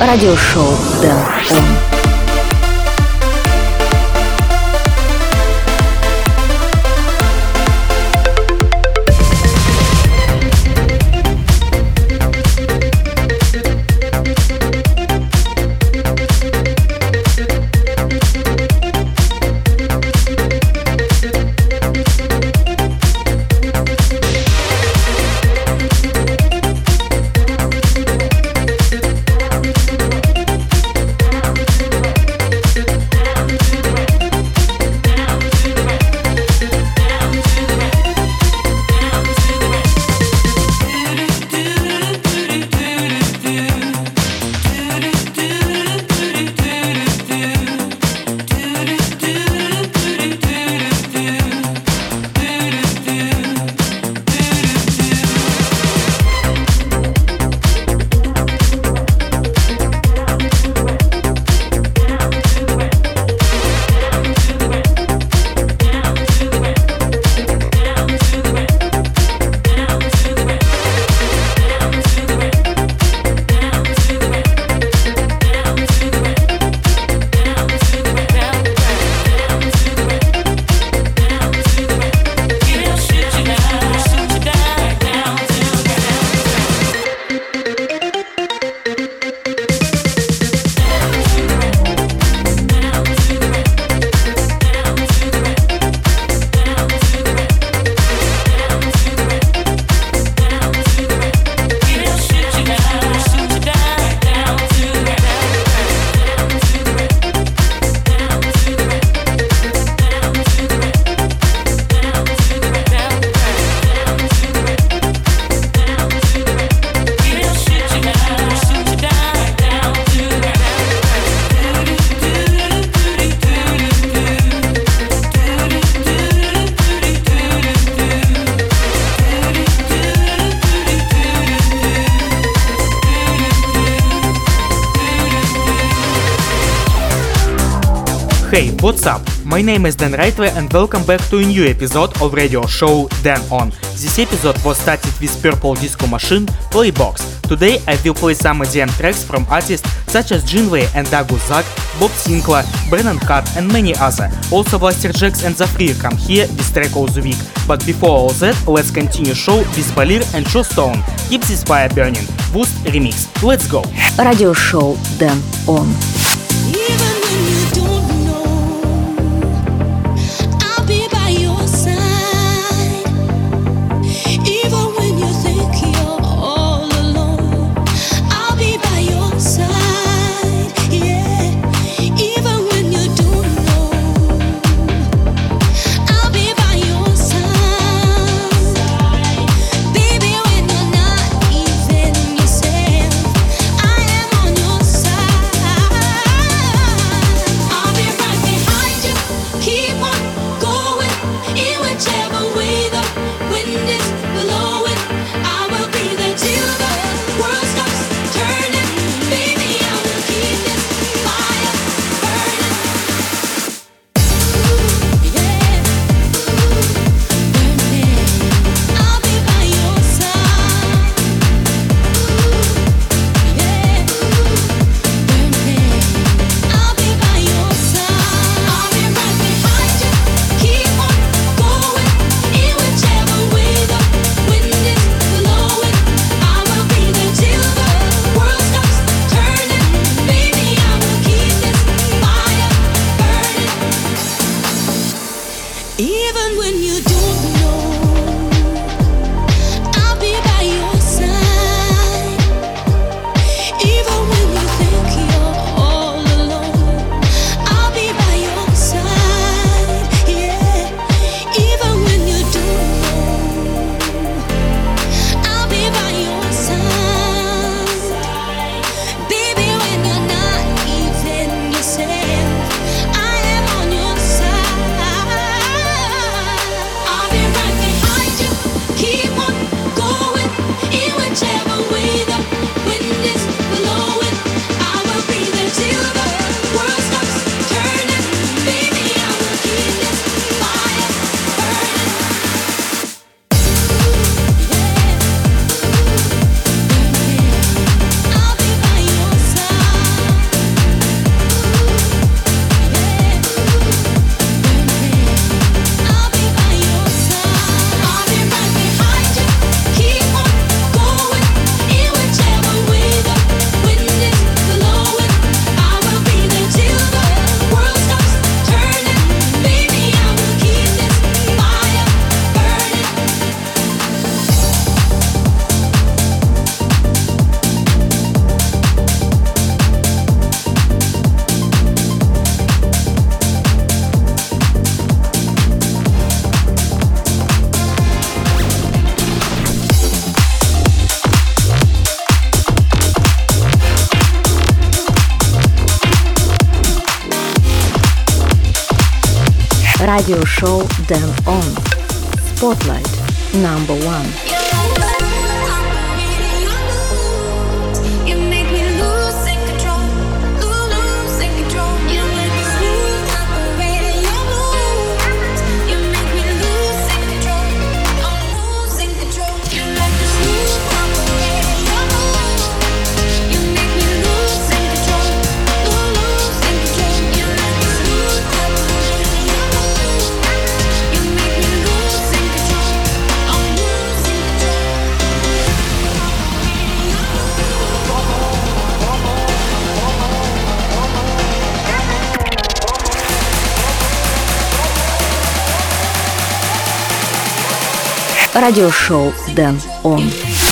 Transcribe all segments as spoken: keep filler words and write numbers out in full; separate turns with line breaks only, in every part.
радиошоу Дэн Он.
Hey, what's up? My name is Dan Rightway and welcome back to a new episode of radio show Dan On. This episode was started with Purple Disco Machine Playbox. Today I will play some E D M tracks from artists such as Jinwei and Dagu Zak, Bob Sinclair, Brennan Hart and many others. Also Blasterjaxx and Zafrir come here with track of the week. But before all that, let's continue show with Balir and Joe Stone. Keep this fire burning. Boost remix. Let's go.
Радиошоу Dan On.
I am on your side.
Радиошоу Dance On. Spotlight number one. Радиошоу Dance On.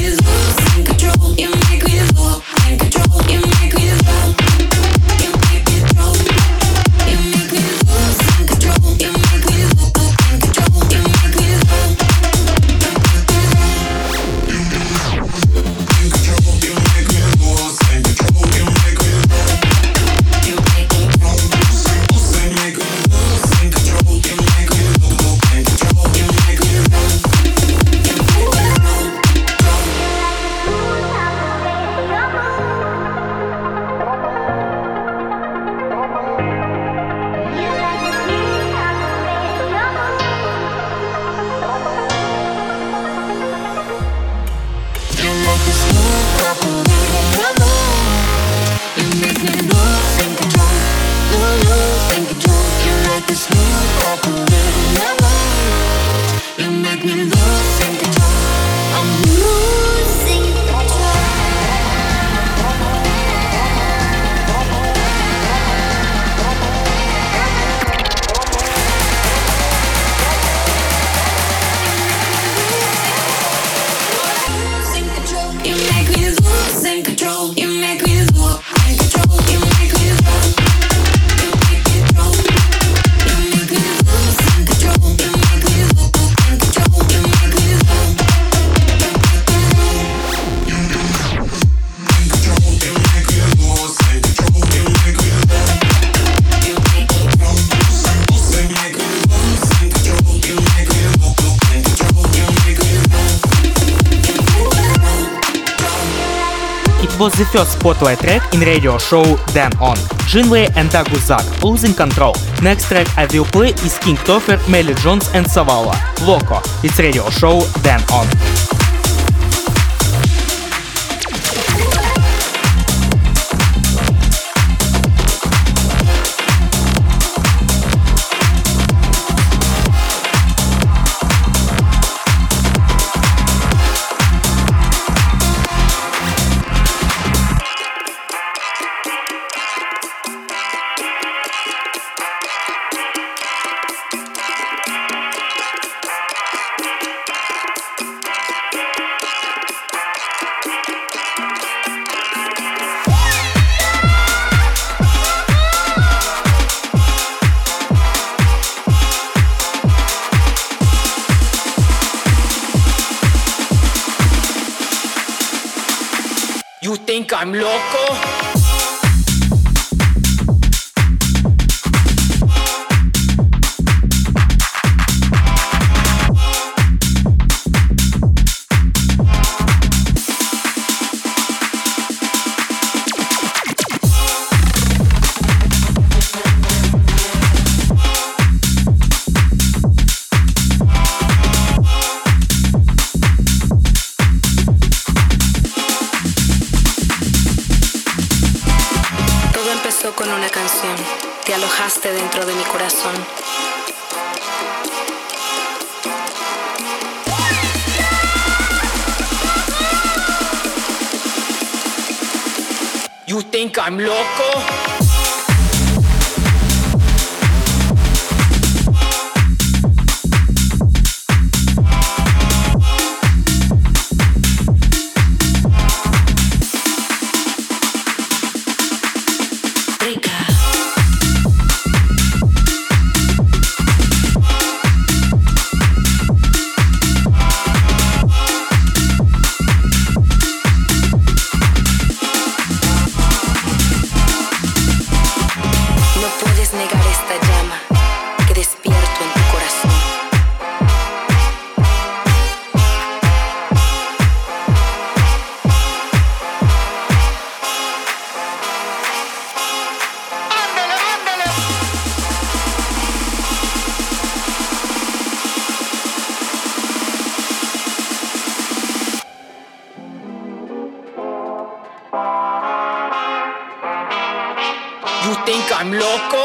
Was the first spotlight track in radio show Dance On. Jinwei and Daguzak, Losing Control. Next track I will play is King Topher, Melly Jones and Savala, Loco. It's radio show Dance On.
You think I'm loco?
Con una canción, te alojaste dentro de mi corazón.
You think I'm loco?
Negar esta llama que despierto en
You think I'm loco?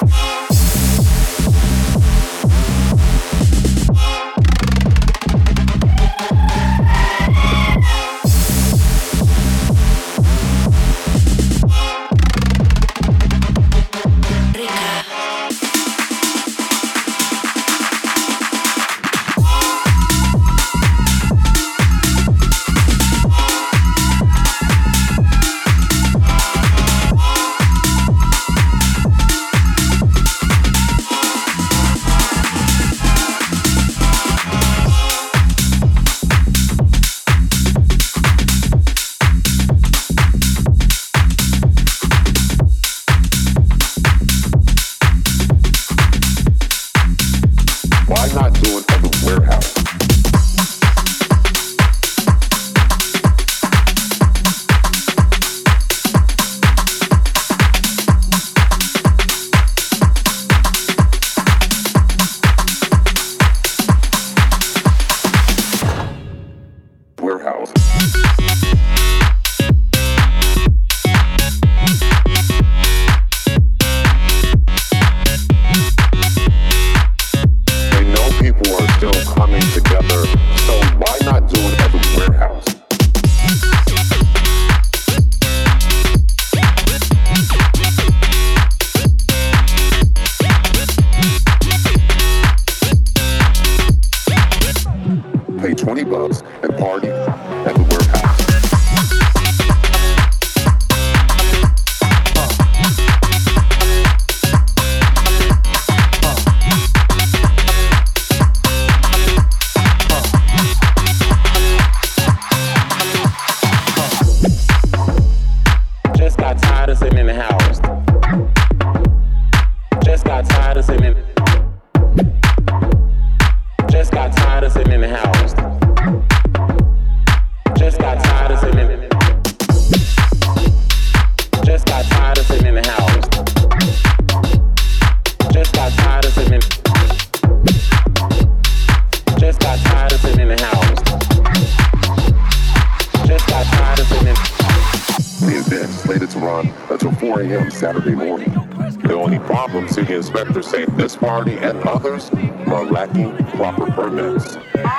Saturday morning. The only problem, city inspectors say this party and others are lacking proper permits.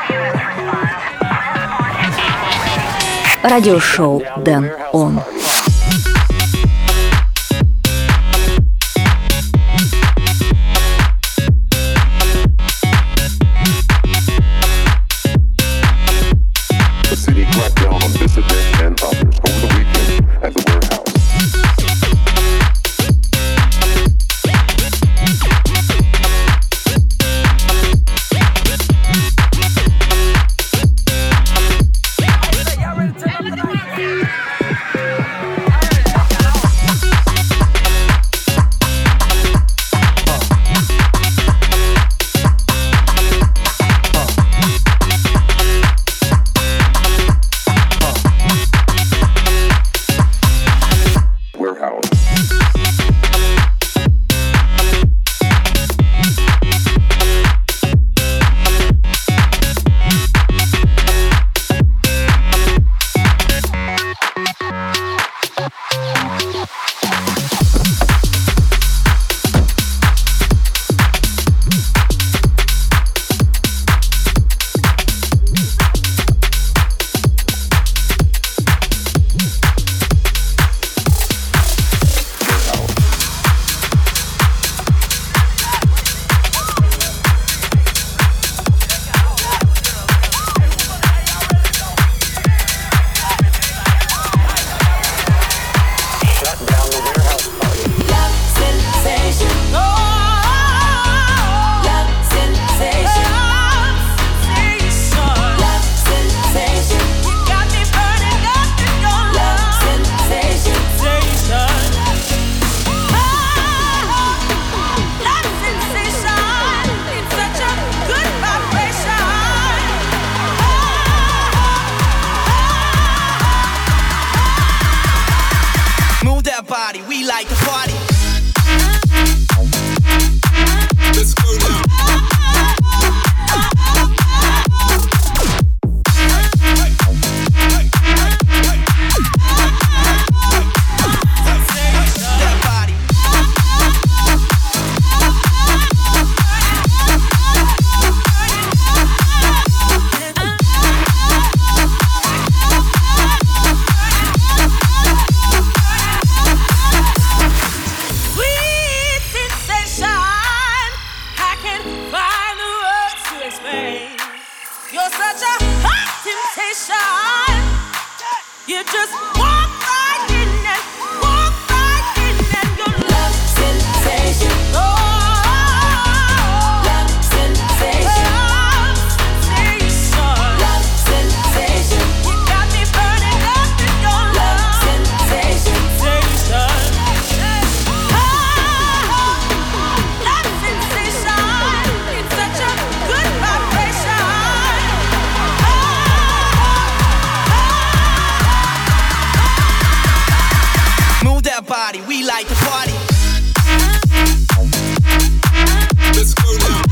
Радиошоу Дэн Он.
The city cracked down on dissidents and others over the weekend at the warehouse.
body, we like to party. Let's go now. That body. our body. We like to party. Let's go now.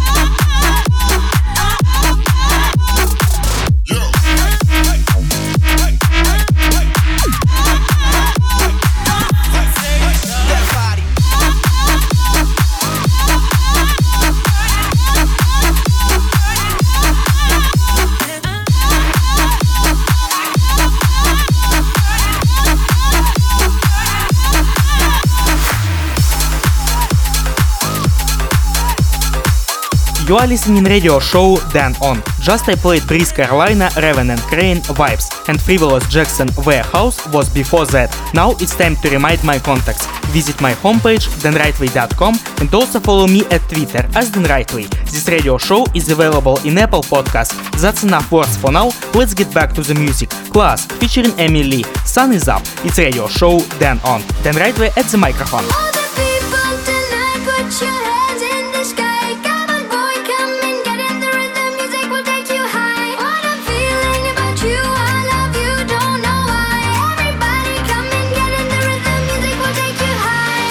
You are listening radio show Dan On. Just I played Breeze Carolina, Raven and Crane, Vibes, and Frivolous Jackson Warehouse was before that. Now it's time to remind my contacts. Visit my homepage dan rightway dot com and also follow me at Twitter as Dan Rightway. This radio show is available in Apple Podcasts. That's enough words for now. Let's get back to the music. Class featuring Emily. Sun is up. It's radio show Dan On. Dan Rightway at the microphone.
All the people tonight, put your hands in the sky. Come on, boy, come and get in the rhythm. Music will take you high. What I'm feeling about you, I love you, don't know why. Everybody, come and get in the rhythm. Music will take you high.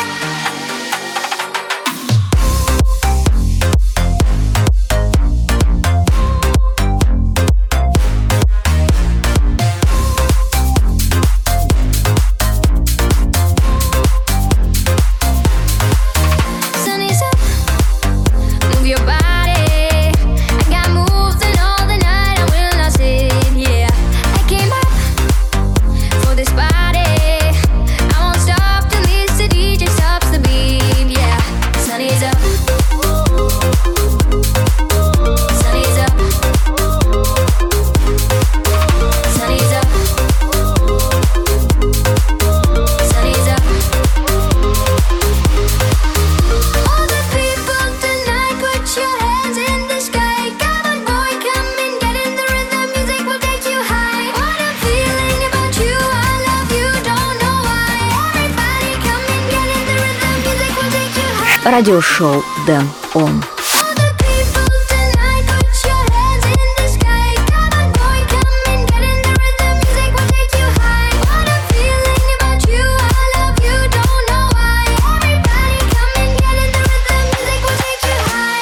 Sun is up, move your body. I got moves and all the night I will not sit. Yeah, I came up for this party. I won't stop till this D J stops the beat. Yeah, sun is up, sun is up, sun is up, sun is up. All the people tonight, put your hands in the sky. Come on, boy, come and get in the rhythm. Music will take you high. What I'm feeling about you, I love you, don't know why. Everybody, come and get in the rhythm. Music will take you high.
Радиошоу Dan On.
All the people tonight, put your hands in the sky. Come on, boy, come and get in the rhythm. Music will take you high. What I'm feeling about you, I love you, don't know why. Everybody, come and get in the rhythm. Music will take you high.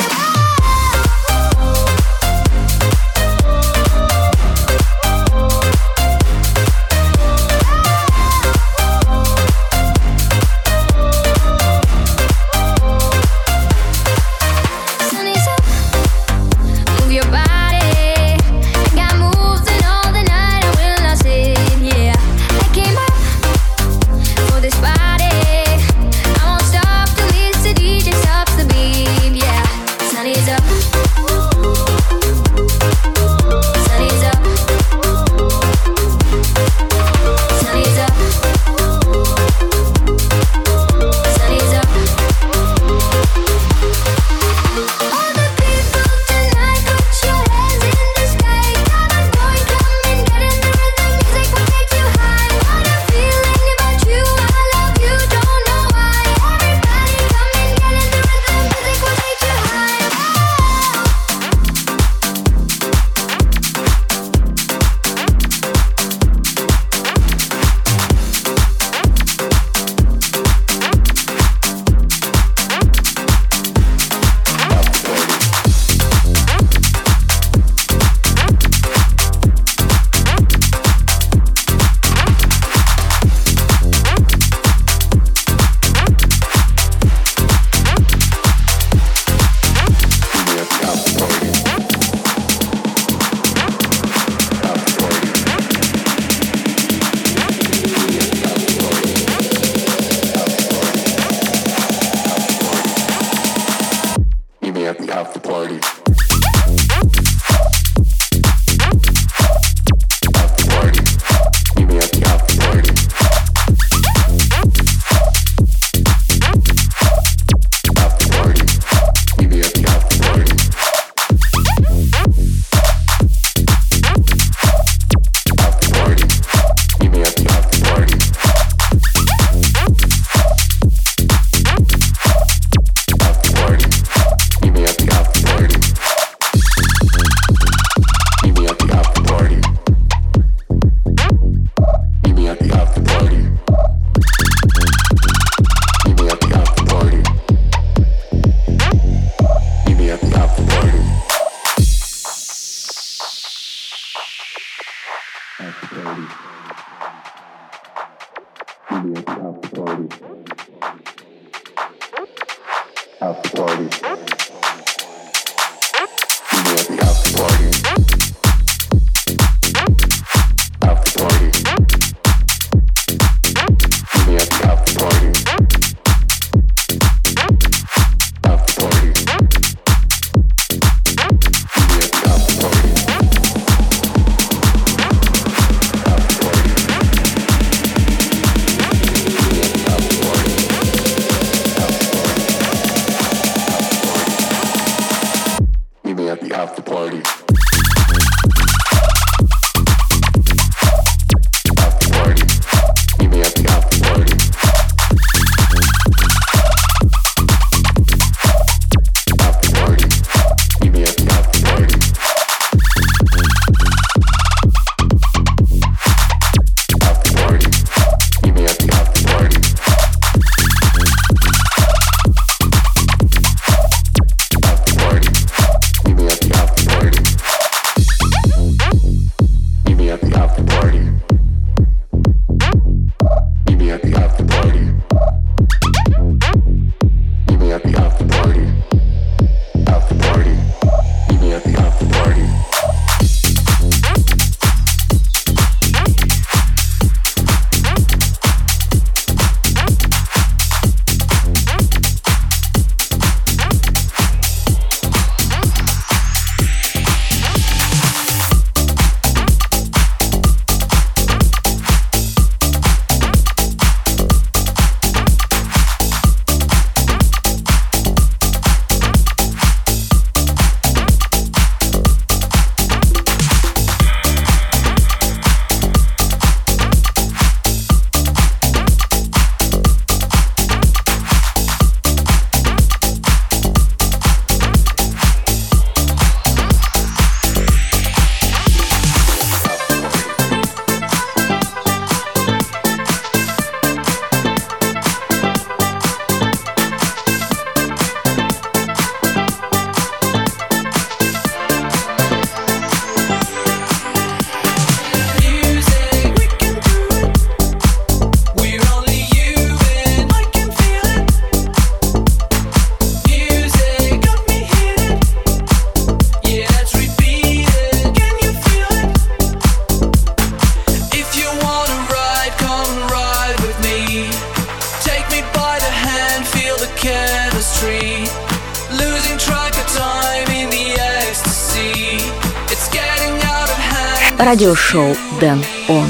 Радиошоу Дэн Он.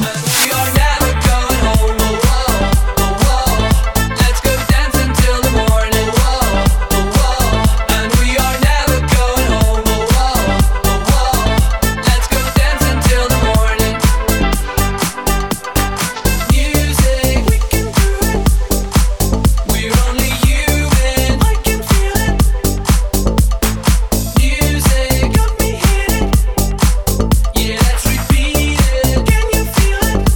Yeah, let's repeat it. Can you feel it?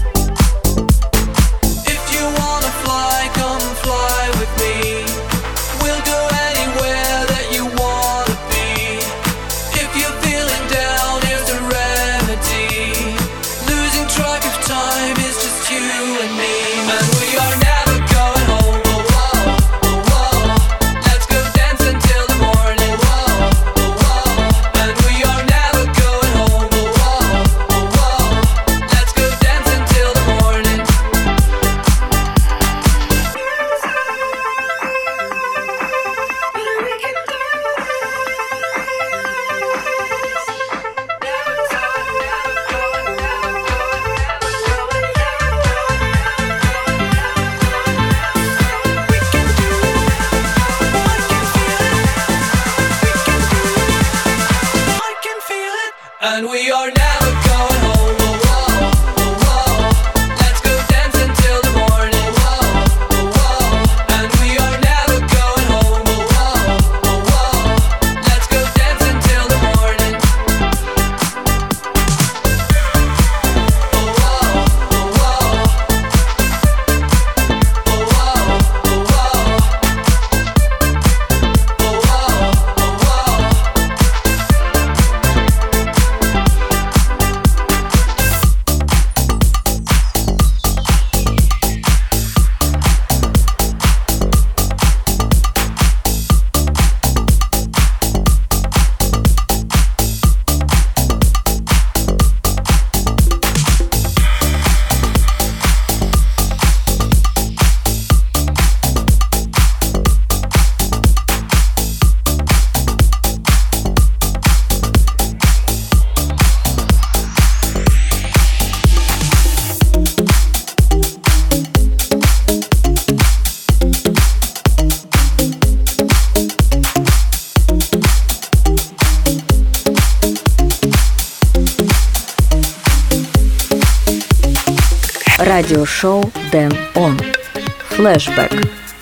Радиошоу Дэн Он. Флэшбэк.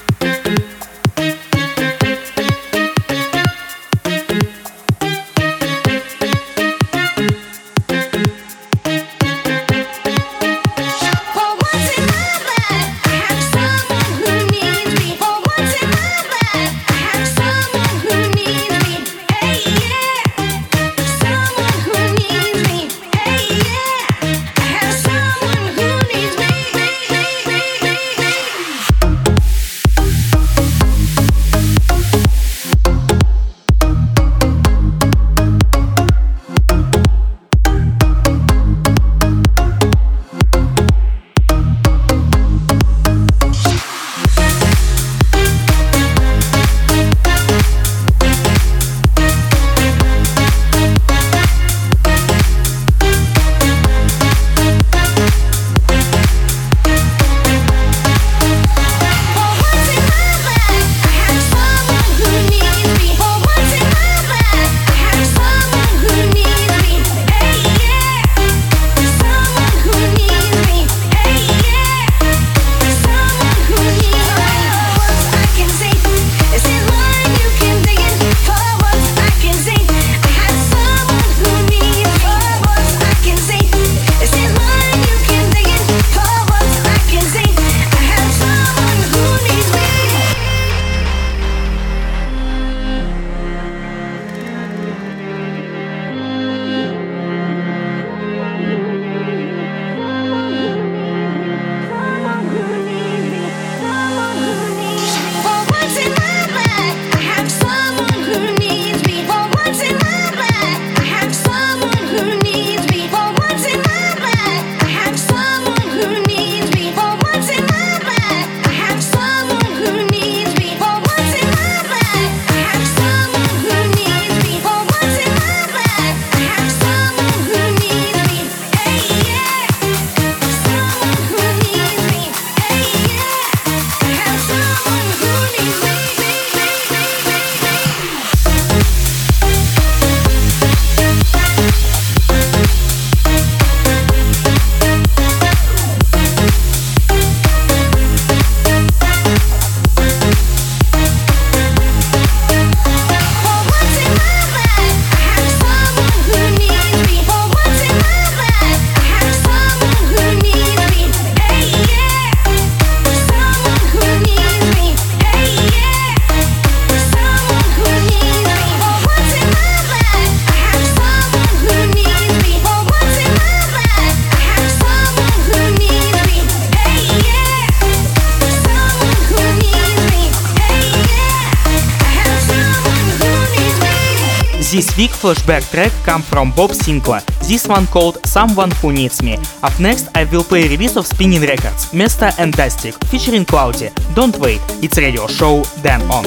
This week flashback track come from Bob Sinclair, this one called Someone Who Needs Me. Up next I will play release of Spinning Records, Mesta and Tastic, featuring Cloudy. Don't wait, it's radio show Dan On.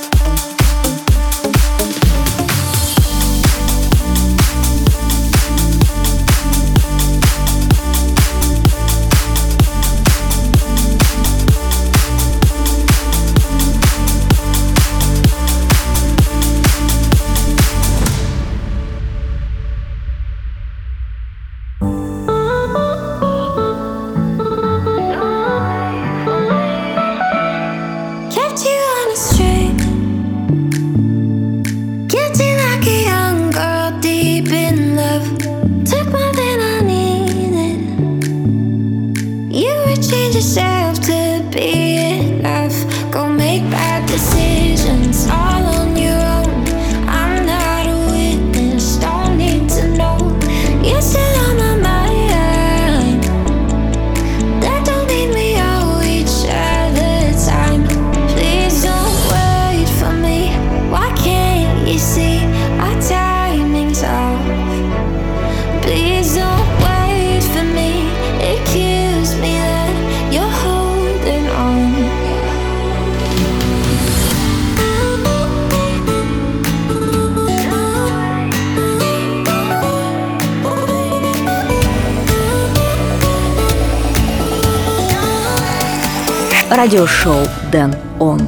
Радиошоу Дэн Он.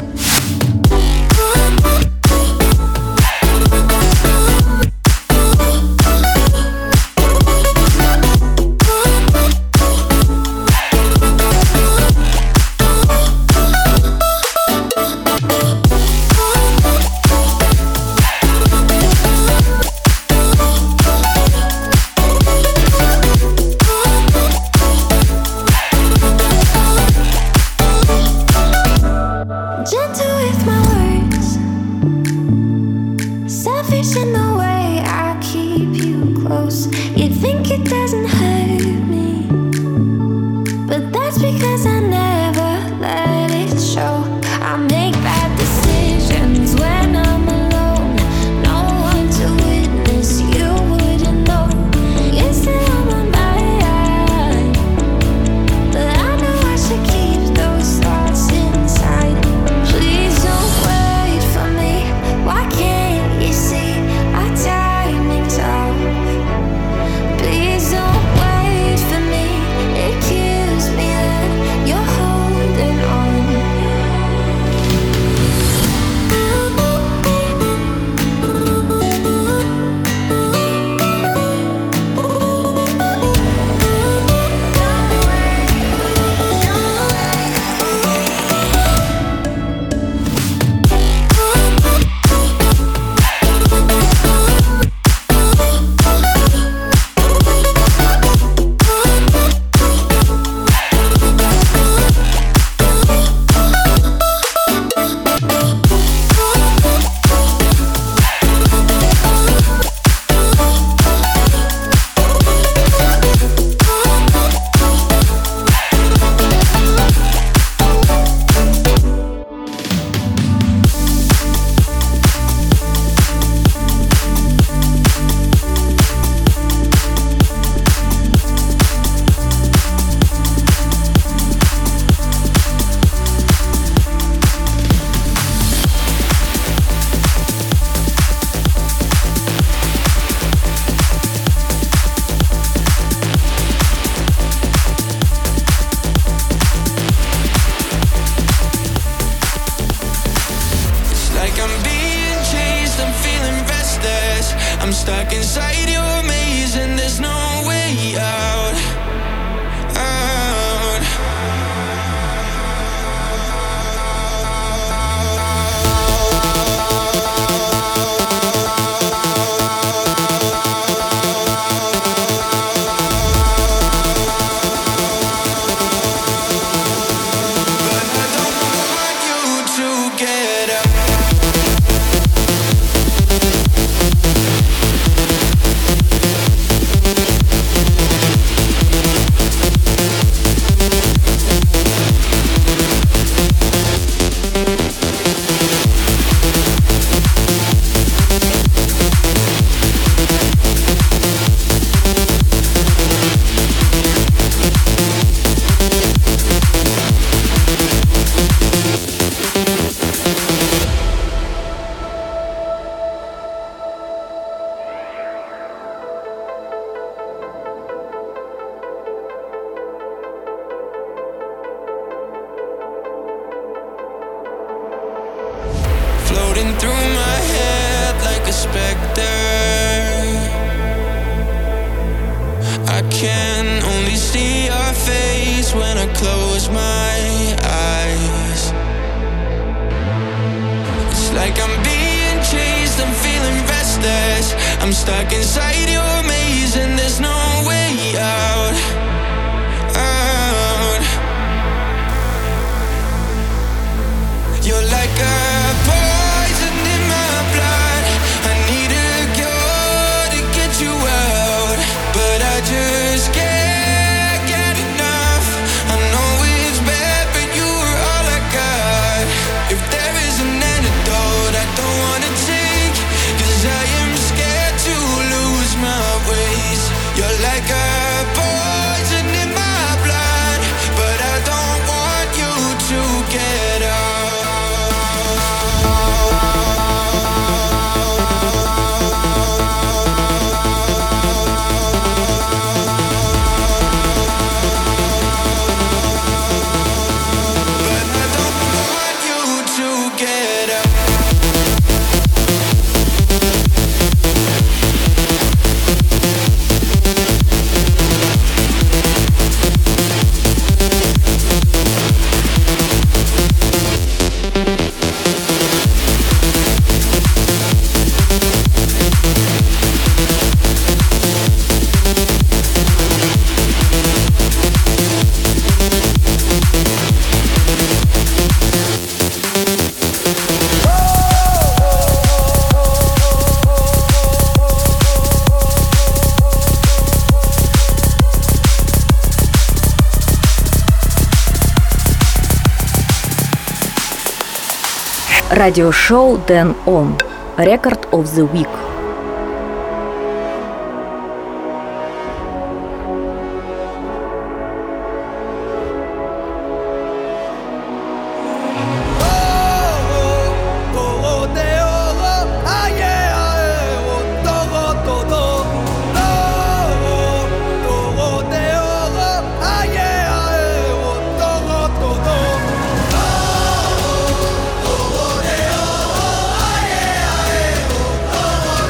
I'm stuck inside your maze and there's no way out, out. But I don't want you to get out. Floating through my head like a specter, I can only see your face when I close my eyes. It's like I'm being chased, I'm feeling restless. I'm stuck inside your maze and there's no way out, out. You're like a poison in my blood. I need a cure to get you out, but I just can't get enough. I know it's bad, but you were all I got. If there is an antidote I don't wanna take, 'cause I am scared to lose my ways. You're like a poison in my blood, but I don't want you to get out.
Радиошоу Dan On. Record of the Week.
Oh,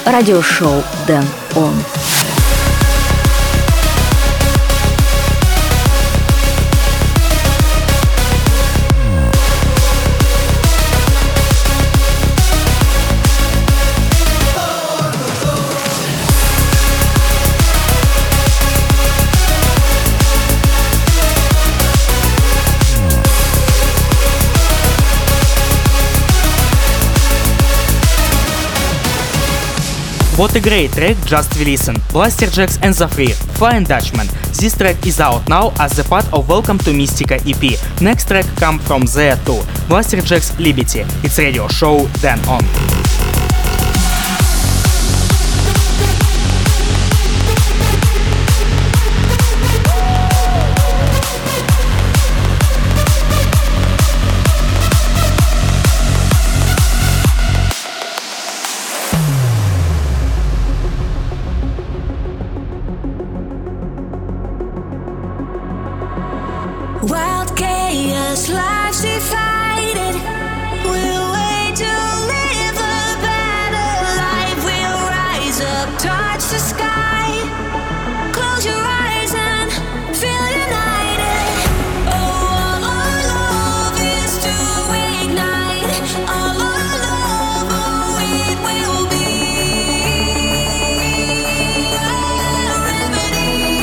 радиошоу Дэн Он.
What a great track, just listen. Blasterjaxx and The Free, Flying Dutchman. This track is out now as a part of Welcome to Mystica E P. Next track comes from there too. Blasterjaxx Liberty. It's radio show Dan On.
Wild chaos, lives divided. We'll wait to live a better life. We'll rise up, touch the sky. Close your eyes and feel united. Oh, all our love is to ignite. All our love, oh, it will be a remedy.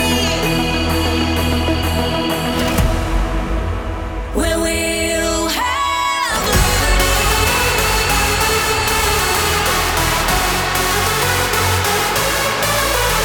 Where we'll have liberty.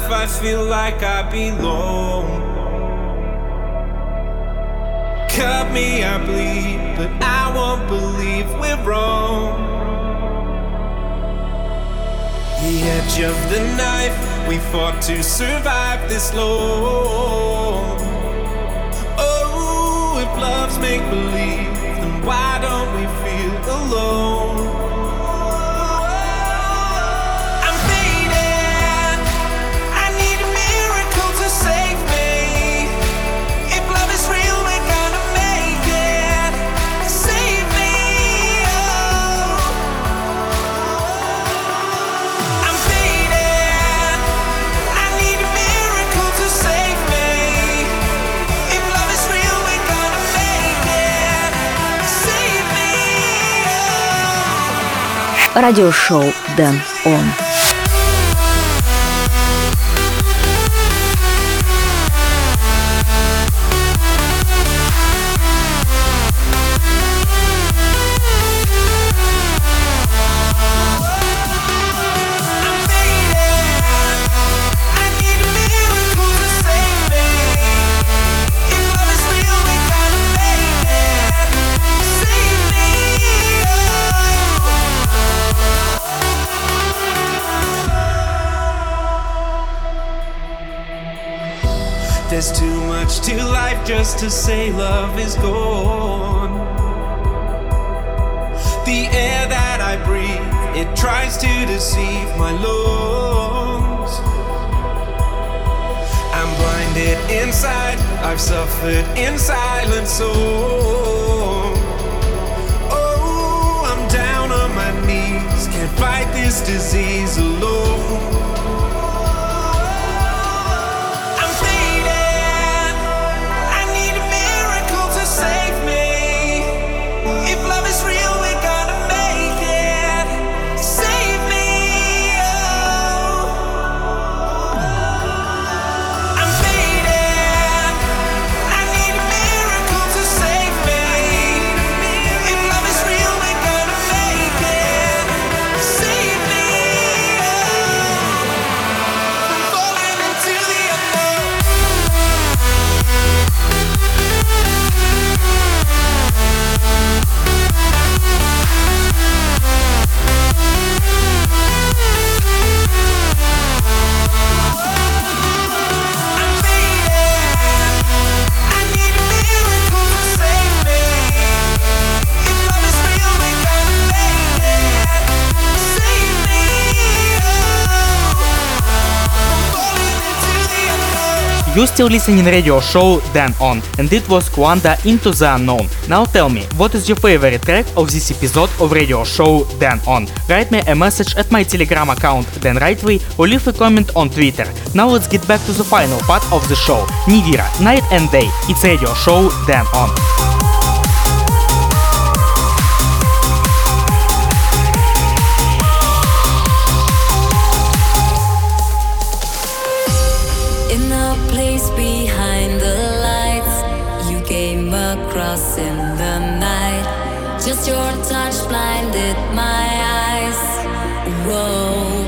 life I feel like I belong. Cut me, I bleed, but I won't believe we're wrong. The edge of the knife, we fought to survive this long. Oh, if love's make-believe, then why don't we feel alone? I'm fading, I need a miracle to save me. If love is real, we're gonna make it. Save me, oh. I'm fading, I need a miracle to save me. If love is real, we're gonna make it. Save me, oh.
Радиошоу Дэн Он.
There's too much to life just to say love is gone. The air that I breathe, it tries to deceive my lungs. I'm blinded inside, I've suffered in silence so. Oh, I'm down on my knees, can't fight this disease alone.
You still listening radio show Dan On, and it was Kwanda Into the Unknown. Now tell me, what is your favorite track of this episode of radio show Dan On? Write me a message at my Telegram account Dan Rightway or leave a comment on Twitter. Now let's get back to the final part of the show. Nidira, Night and Day. It's radio show Dan On.
Across in the night, just your touch blinded my eyes. Whoa,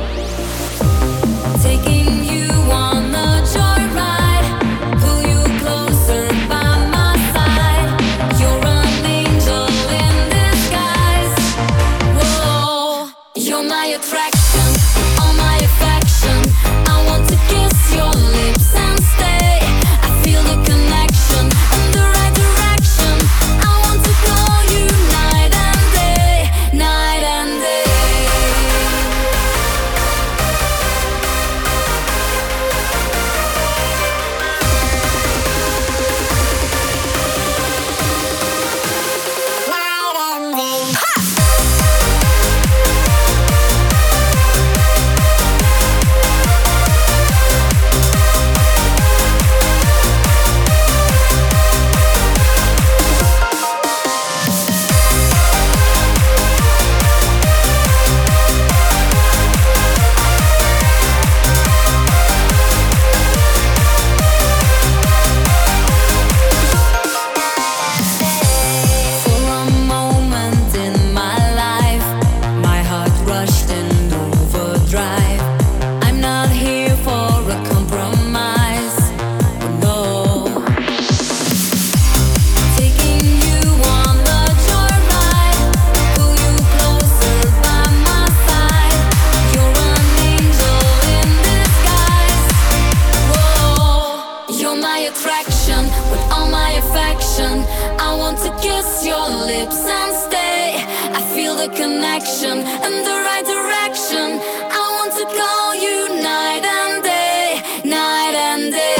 taking you on a joyride, pull you closer by my side. You're an angel in disguise. Whoa, you're my attraction, all my affection. I want to kiss your lips and stay. I feel the connection and the right direction. I want to call you night and day, night and day. the connection and the right direction. I want to call you night and day, night and day.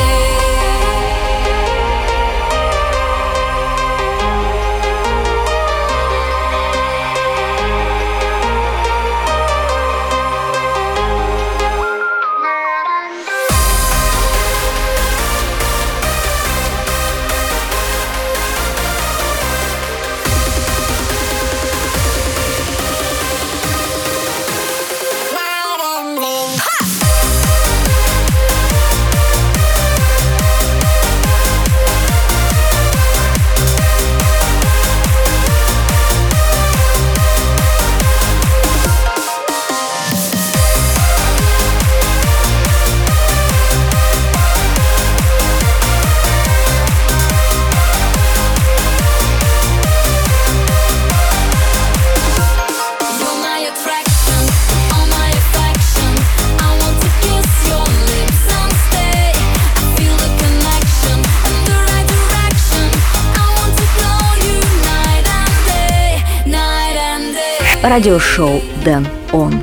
Радиошоу Дэн Он.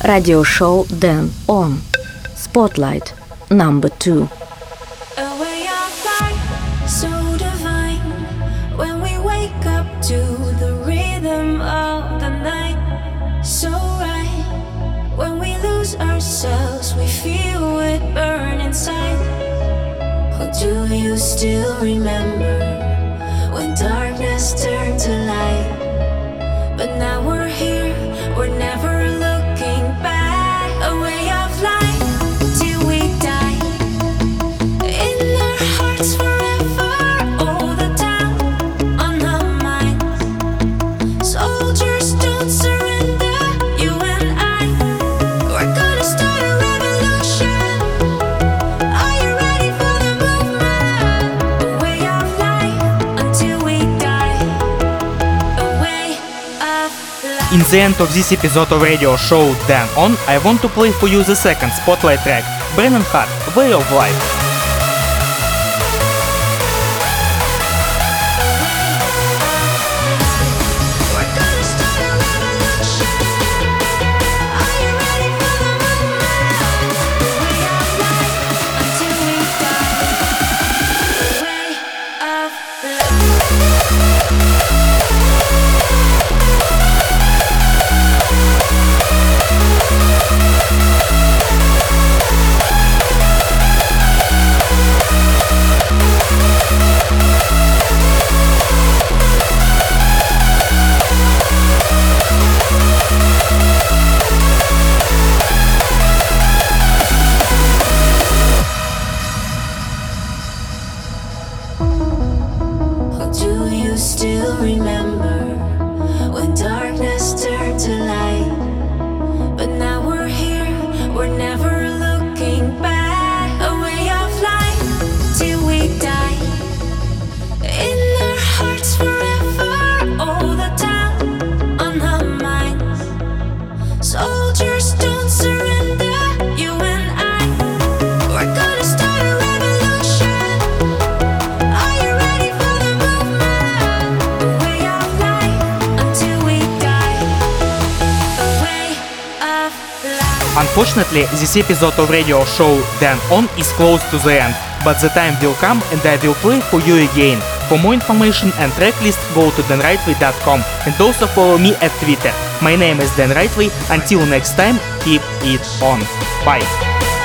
Radio show Dan On. Spotlight number two.
A way of life so divine when we wake up to the rhythm of the night. So right when we lose ourselves, we feel it burn inside. Oh, do you still remember when darkness turned to light? But now we're here, we're never looking back. A way of life till we die. In our hearts forever, all the time on our minds. Soldiers don't surrender, you and I. We're gonna start a revolution. Are you ready for the movement? A way of life until we die. A way of life.
In the end of this episode of radio show Dan On, I want to play for you the second spotlight track, Brennan Hart, Way of Life.
We're gonna start a revolution. Are you ready for the movement? The way of life until we die. The way of Do you still remember when darkness turned to light? But now we're here, we're never looking back. A way of life till we die. In our hearts forever, all the time on our minds. Soldiers don't surrender, you and I. We're gonna start a revolution. Are you ready for the movement? A way of life until we die. A way of life.
Unfortunately, this episode of radio show Dan On is close to the end, but the time will come and I will play for you again. For more information and tracklist, go to dan rightway dot com and also follow me at Twitter. My name is Dan Rightway. Until next time, keep it on. Bye.